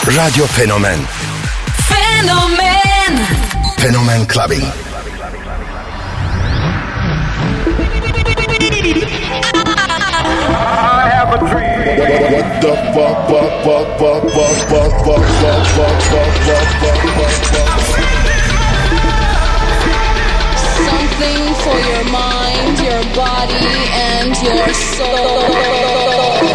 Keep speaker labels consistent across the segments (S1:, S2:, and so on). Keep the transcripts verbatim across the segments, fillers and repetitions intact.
S1: Radyo Fenomen.
S2: Fenomen.
S1: Fenomen Clubbing.
S3: I have a dream. What the fuck, fuck, fuck, fuck, fuck, fuck, fuck, fuck, fuck, fuck, fuck, fuck, fuck.
S4: Something for your mind, your body, and your soul.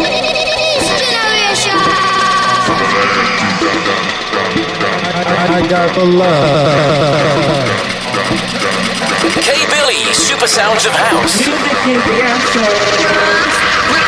S5: I got the love.
S6: K-Billy, Super Sounds of House.
S7: Music is the answer.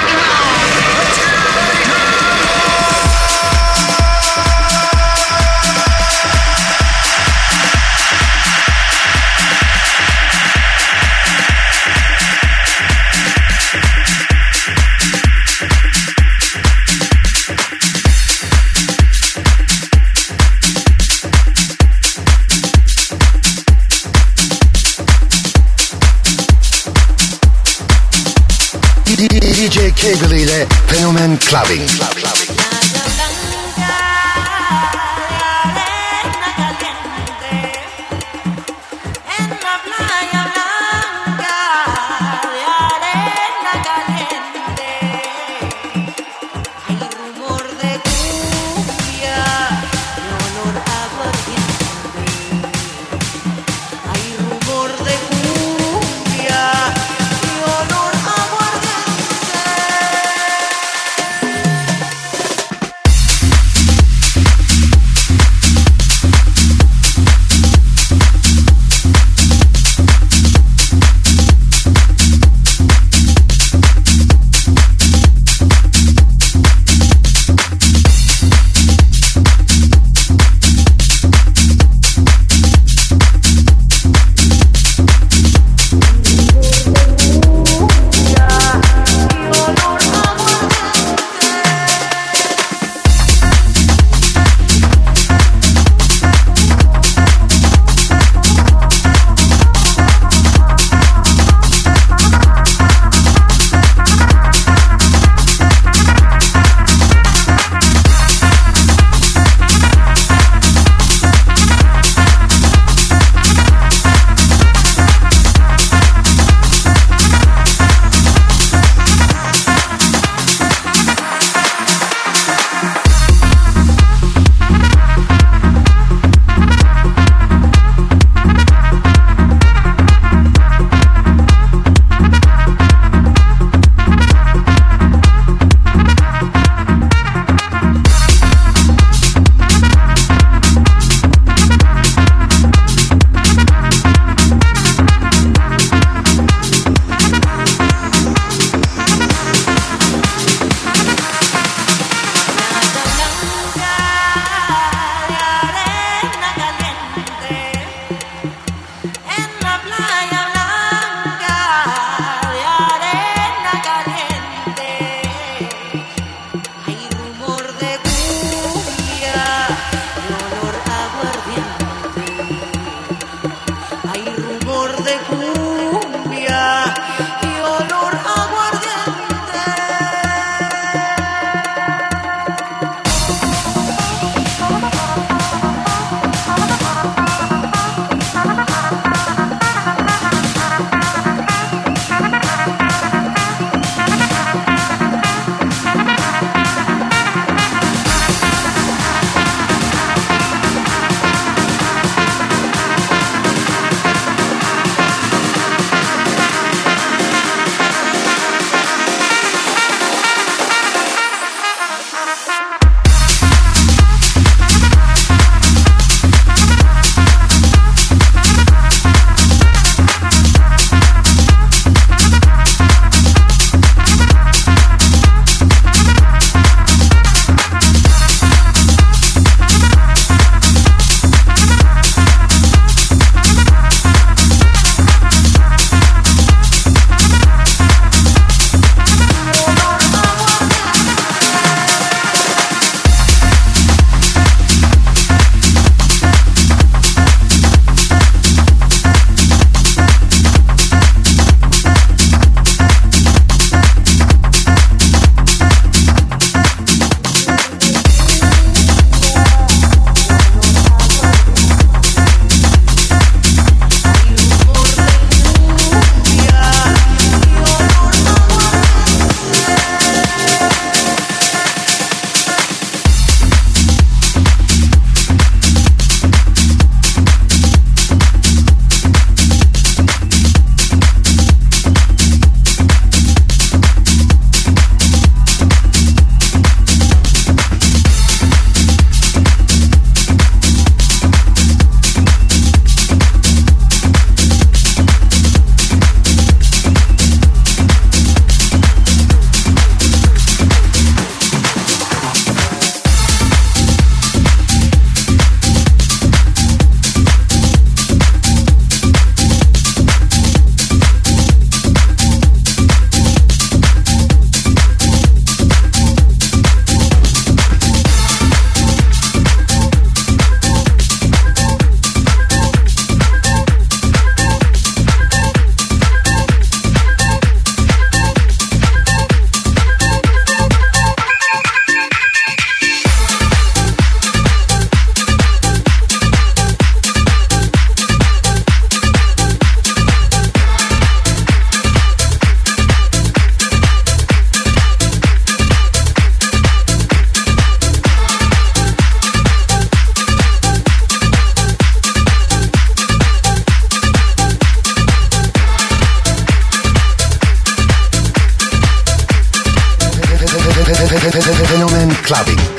S1: D J K-Billy ile Fenomen Clubbing.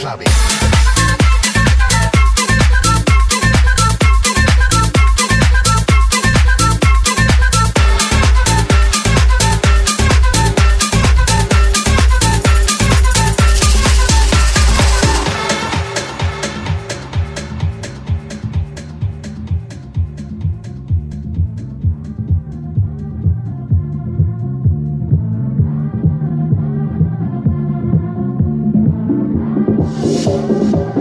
S1: clubbing.
S2: We'll be right back.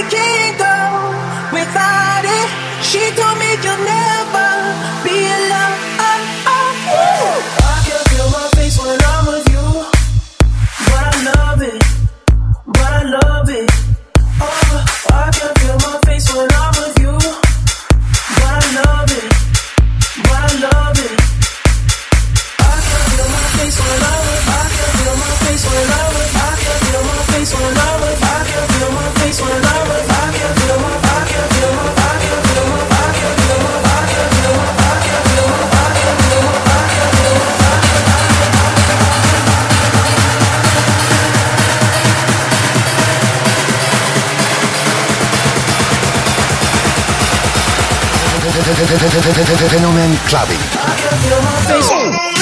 S2: can't go without it. She told me you'll never be alone. Oh, oh, oh. I can feel my face when I'm with you, but I love it, but I love it. Oh, I can feel my face when I'm with you, but I love it, but I love it. I can feel my face when I'm with, I can feel my face when I'm with, I can feel my face when I'm with, I can feel my face when I'm with, I can feel my, I can feel my, I can feel my, I can feel my, I can feel my, I can feel my, I can feel my, I can feel my,
S1: Fenomen Clubbing.
S2: I can feel my face.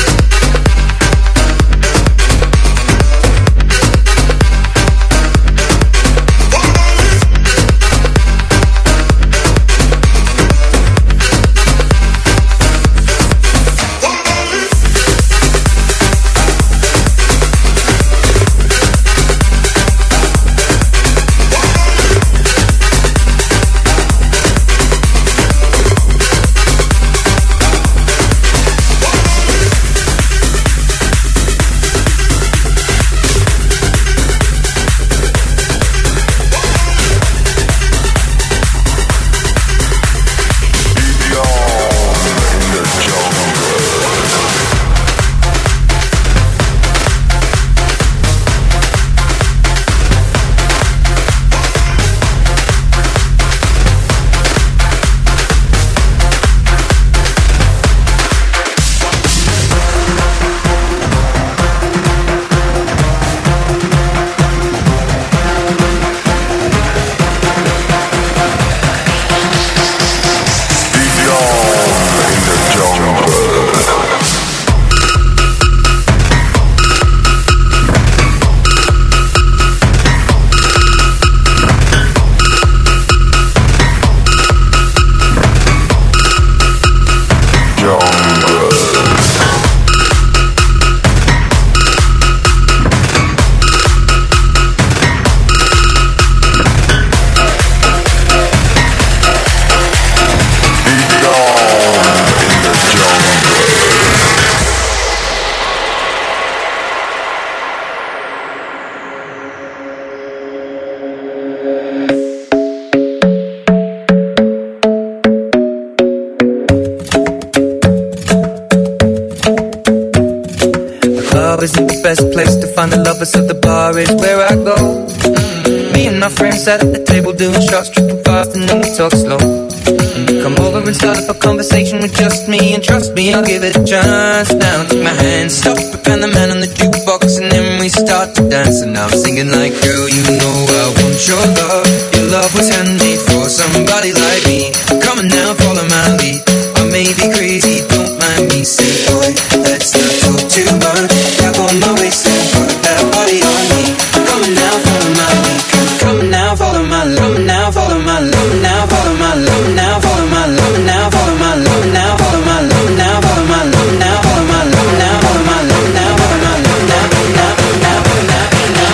S8: Find the lovers of the bar is where I go. Mm-hmm. Me and my friends sat at the table doing shots, tripping fast, and then we talk slow. Mm-hmm. Come over and start up a conversation with just me, and trust me, I'll give it a chance. Now take my hand, stop it, and the man on the jukebox, and then we start to dance. And I'm singing like, girl, you know I want your love. Your love was handmade for somebody like me. Come on now, follow my lead. I may be crazy, don't mind me. Say, boy, let's not talk too much. Tap on my waist and put that body on me. Come on now, follow my lead. Come on now, follow my love. Now follow my love. Now follow my love. Now follow my love. Now follow my love. Now follow my love. Now follow my love. Now follow my love. Now follow my love. Now follow my love. Now now now now now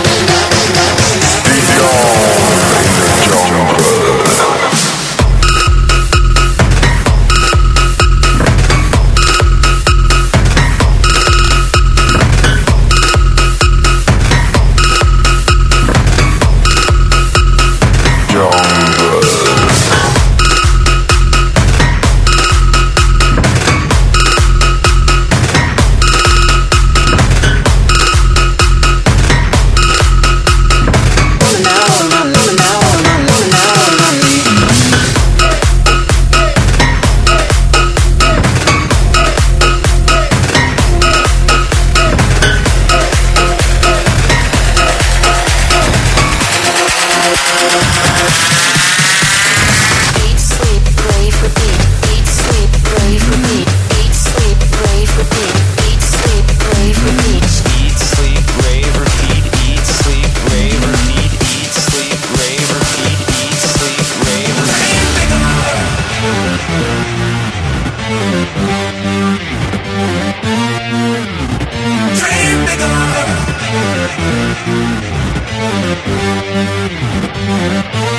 S2: Dream bigger.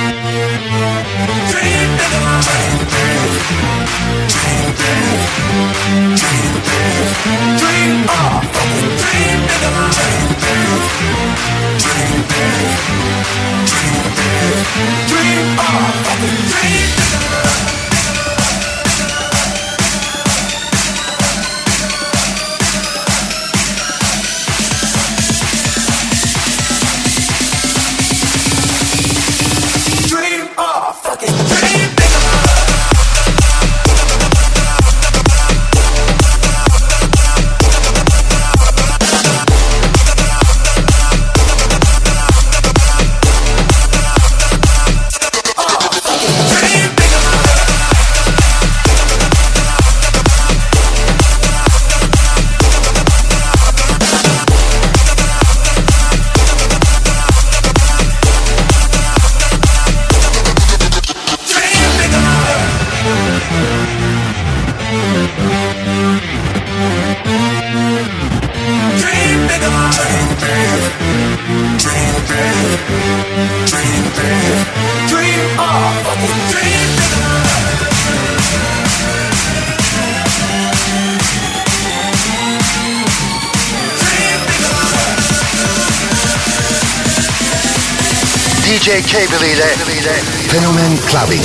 S1: D J Cable ile Fenomen Clubbing.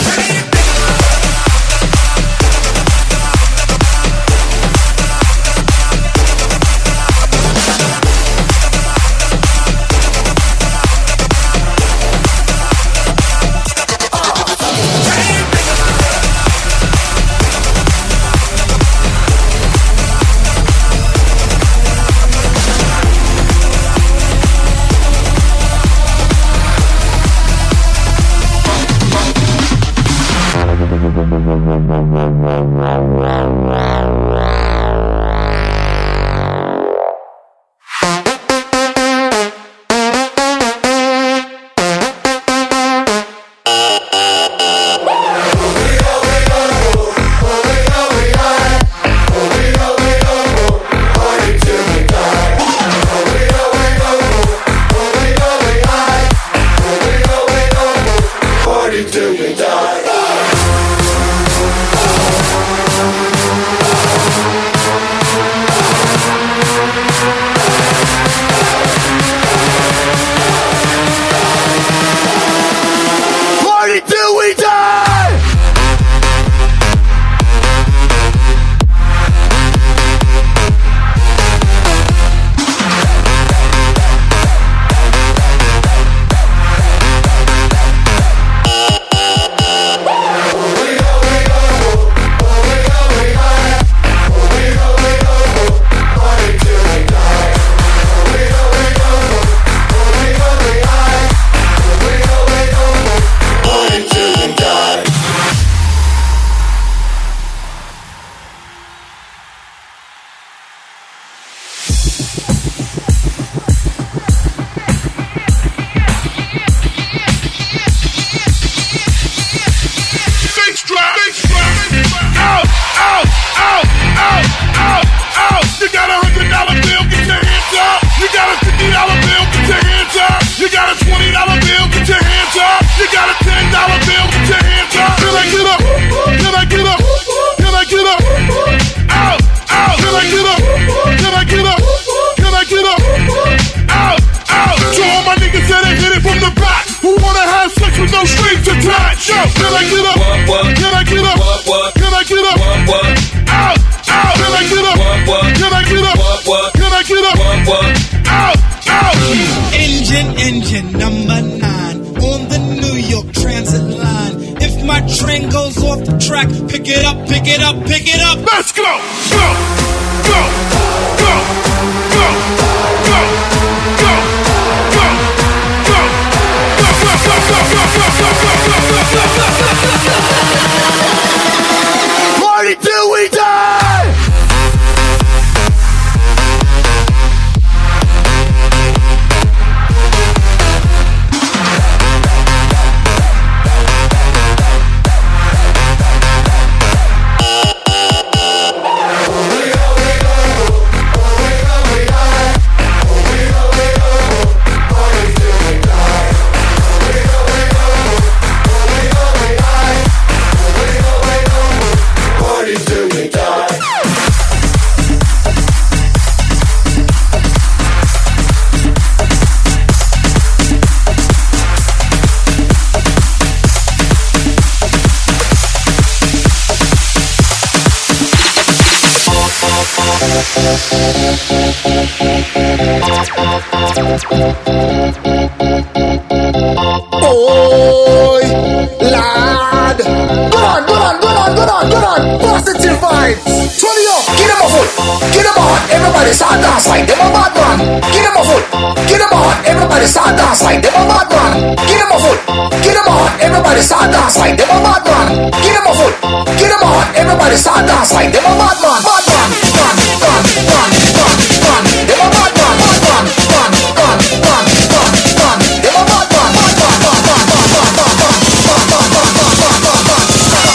S9: Boy, lad. Good on, good on, good on, good on, good on. Positive vibes. Turn it up. Get them a foot. Get them on. Everybody start dance like them a bad man. Get them a foot. Get them on. Everybody start dance like them a bad man. Get them a foot. Get them on. Everybody start dance like them a bad man. Get them a foot. Get them on. Everybody start dance like them a bad man. Bad man. Man, man, man, man, man. Them a bad man. Bad man. Man, man, man, man, man. Them a bad man. Bad man, man, man, man, man, man, man, man, man, man, man, man, man.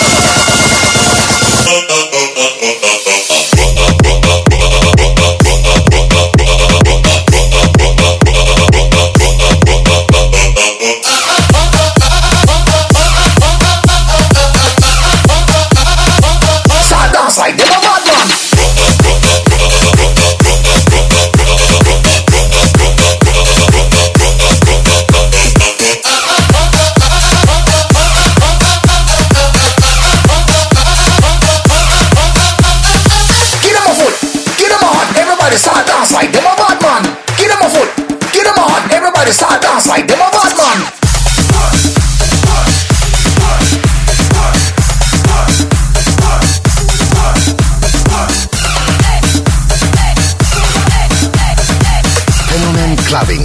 S9: Like them a bad man. Get them a foot, get them on, everybody start dance like them a bad man. Get them a foot, get them on, everybody start dance like them a bad man.
S1: Clubbing.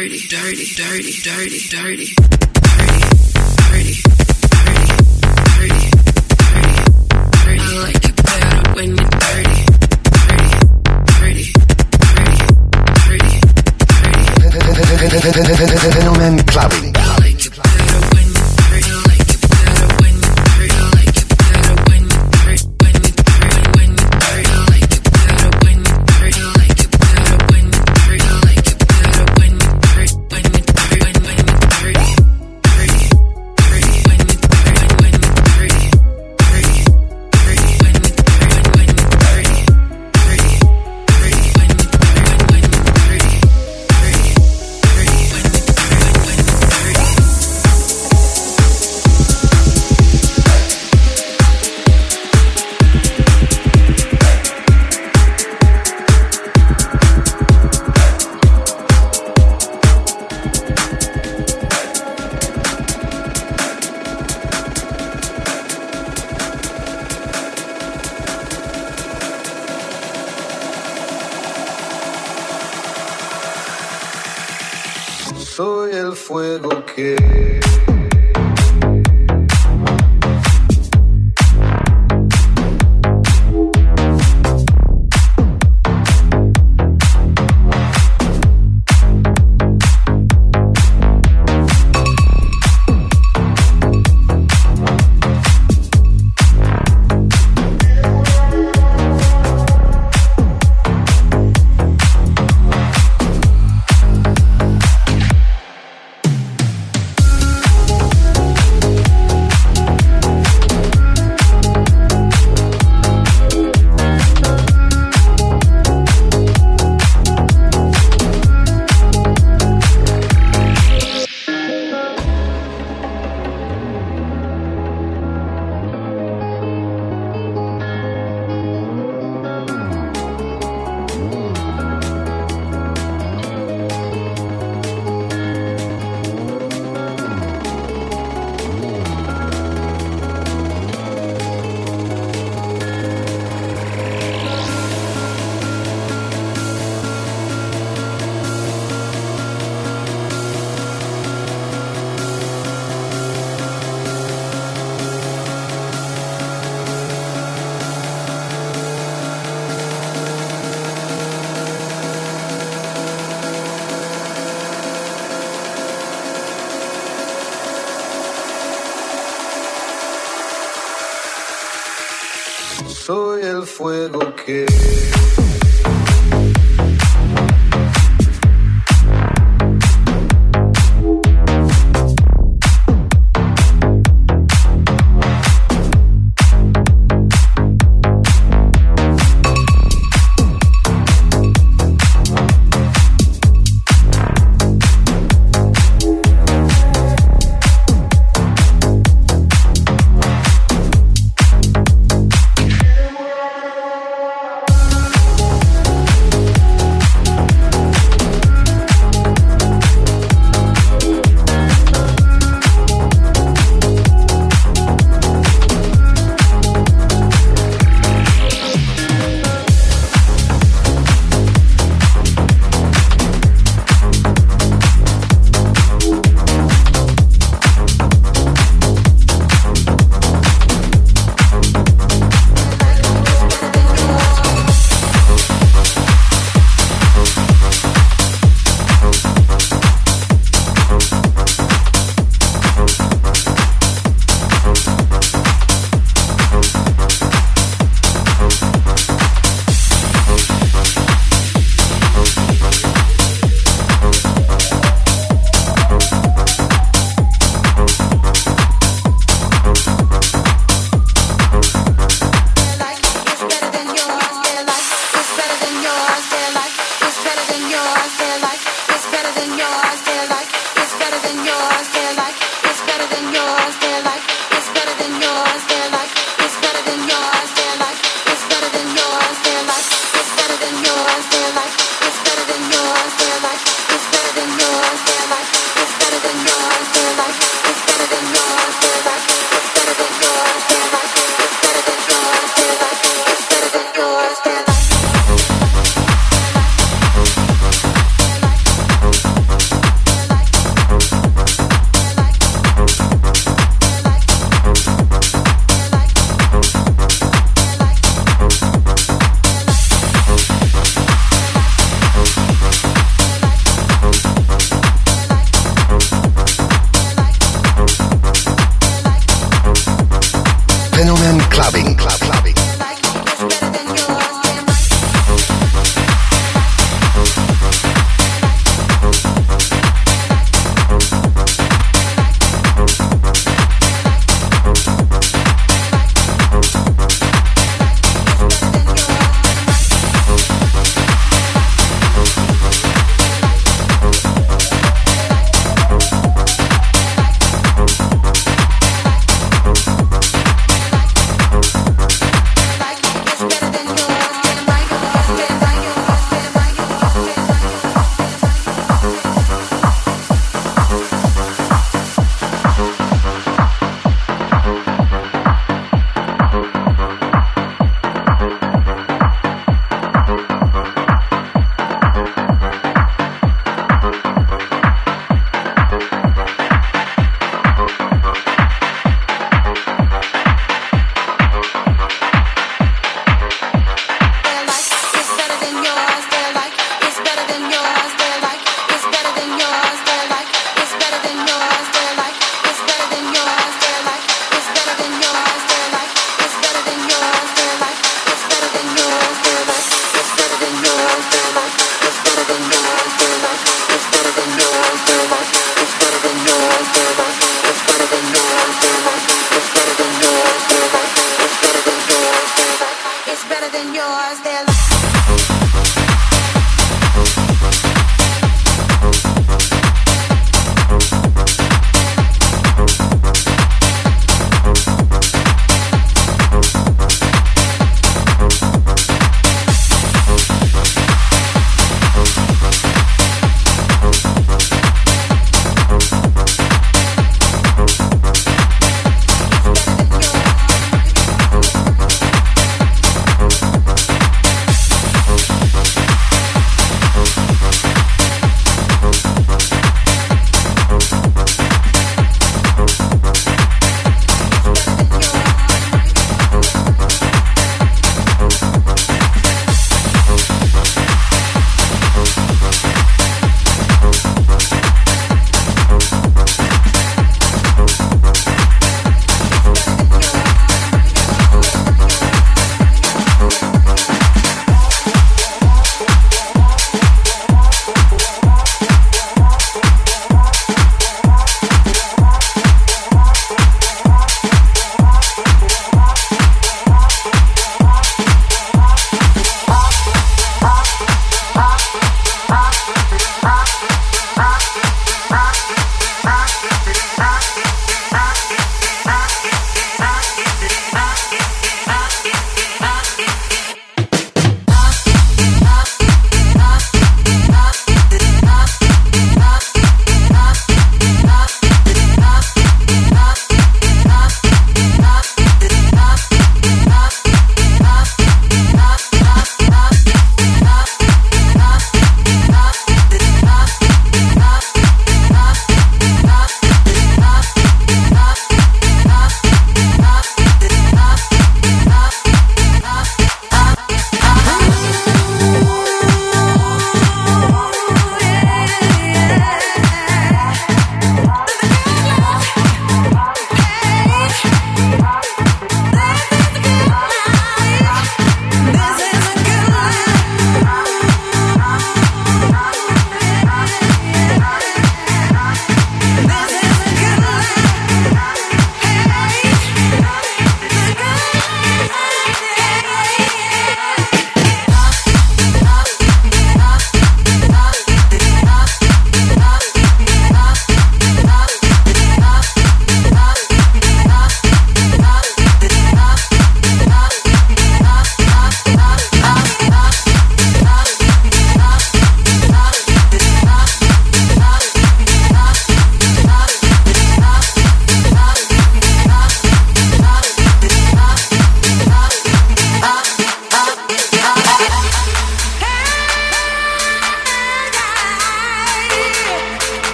S2: dirty, dirty, dirty, dirty, dirty, dirty, dirty, dirty, dirty. I like it better when you're dirty, dirty, dirty, dirty, dirty.
S1: Fenomen Clubbing.
S2: I like it better when you're dirty. I like it better when you're dirty. I like it better when you're dirty. When you're dirty, when you're dirty. I like it better when you're dirty. I like it better when you're dirty. I like it better when you're dirty. When you're dirty, when when you're dirty, dirty, dirty. When you're dirty, when you're dirty, dirty, dirty. When you're dirty, when you're dirty, dirty, dirty. When you're dirty, when you're dirty, dirty, dirty. When you're dirty, when you're dirty.
S10: Soy el fuego que soy el fuego que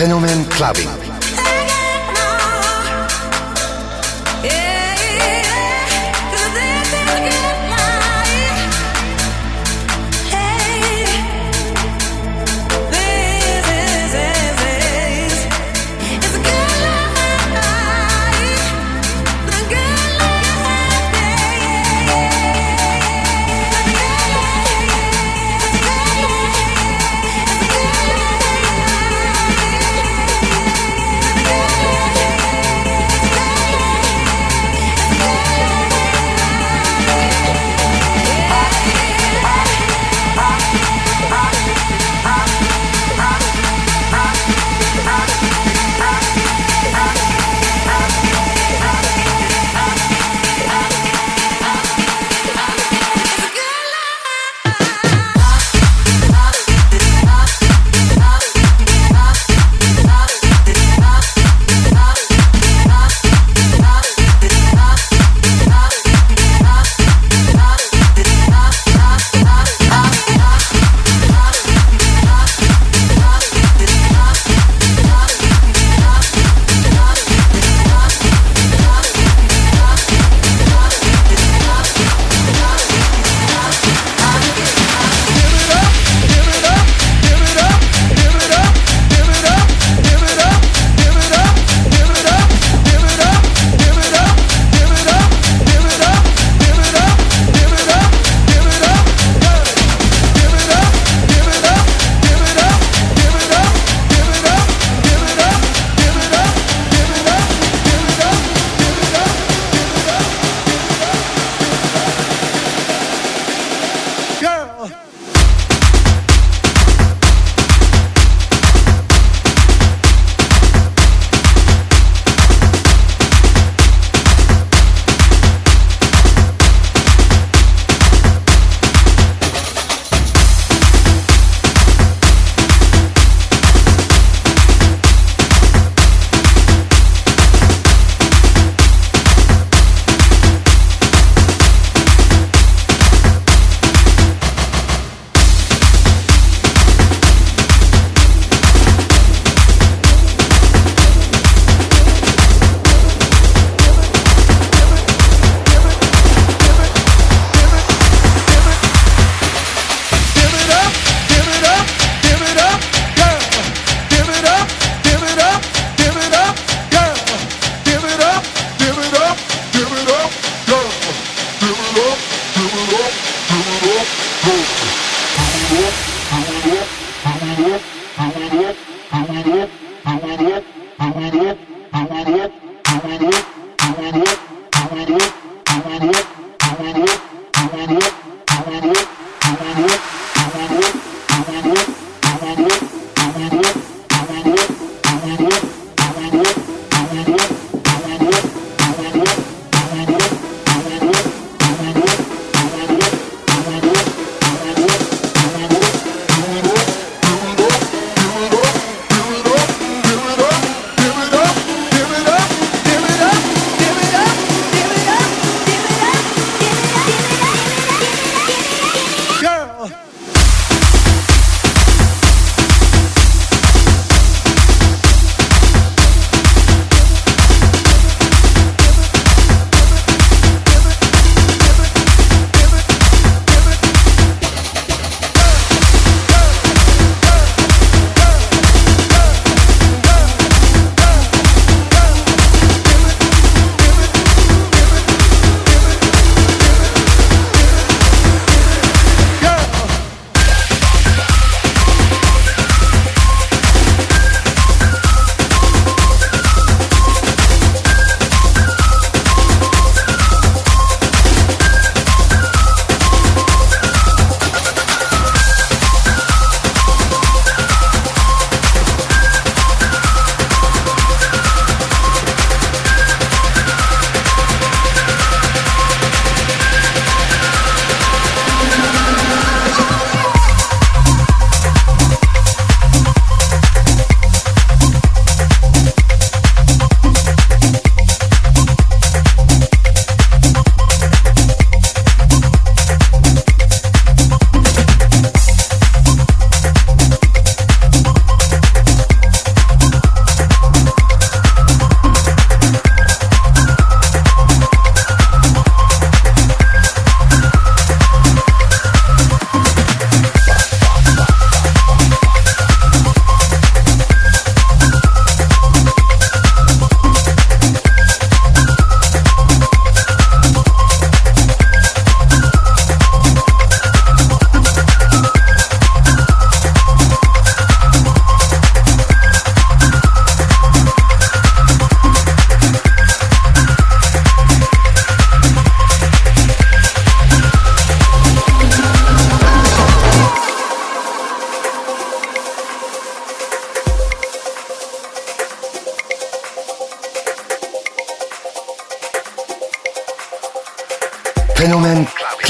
S1: Fenomen Clubbing.
S2: Yeah.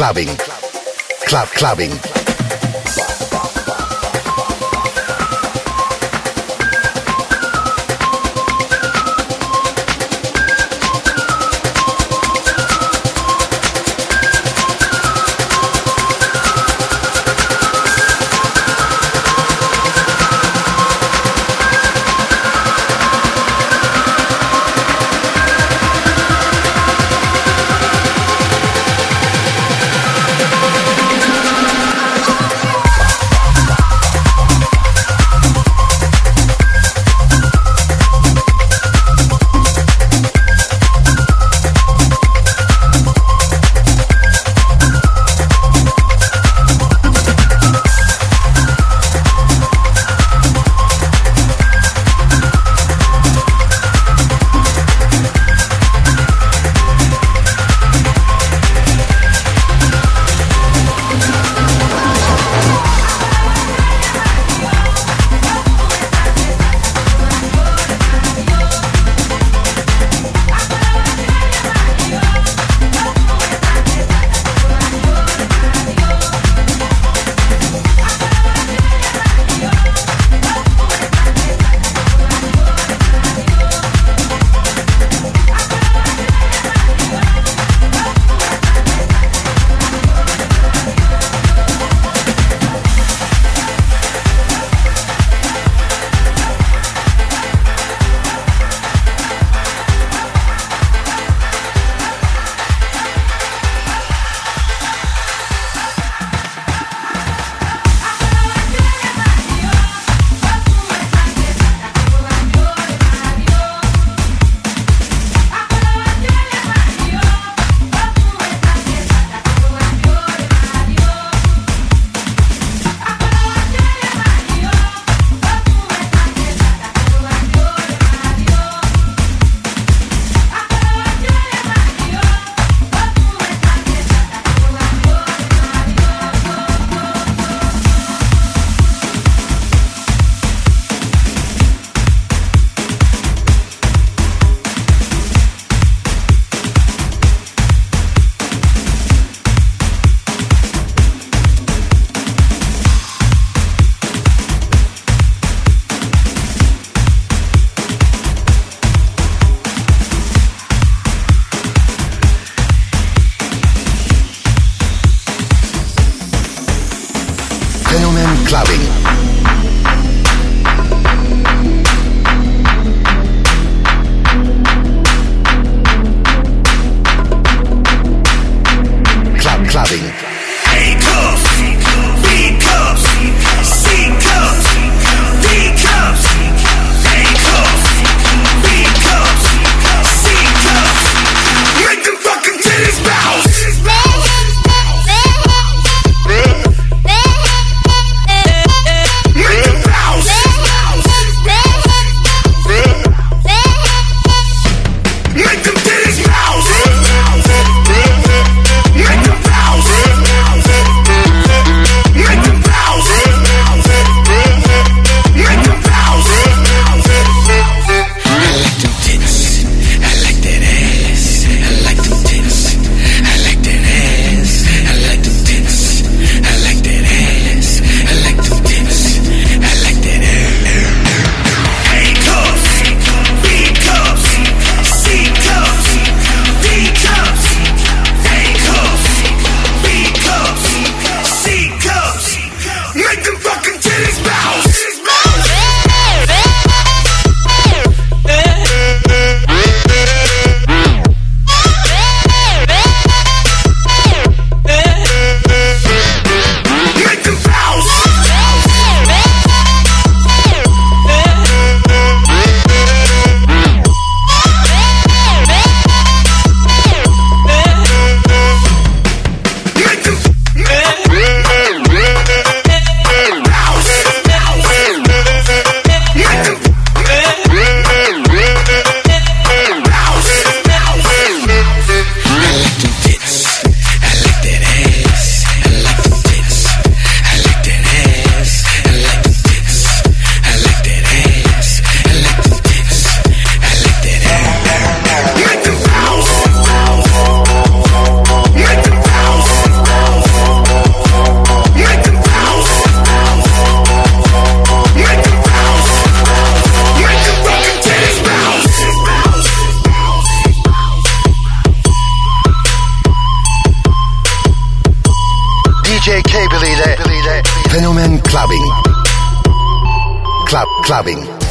S1: clubbing. Club clubbing. Clubbing. Club clubbing.
S11: A cups, B cups, C cups, D cups, A cups, B cups, C cups. Make them fucking titties bounce.
S1: Fenomen Clubbing. Club Clubbing.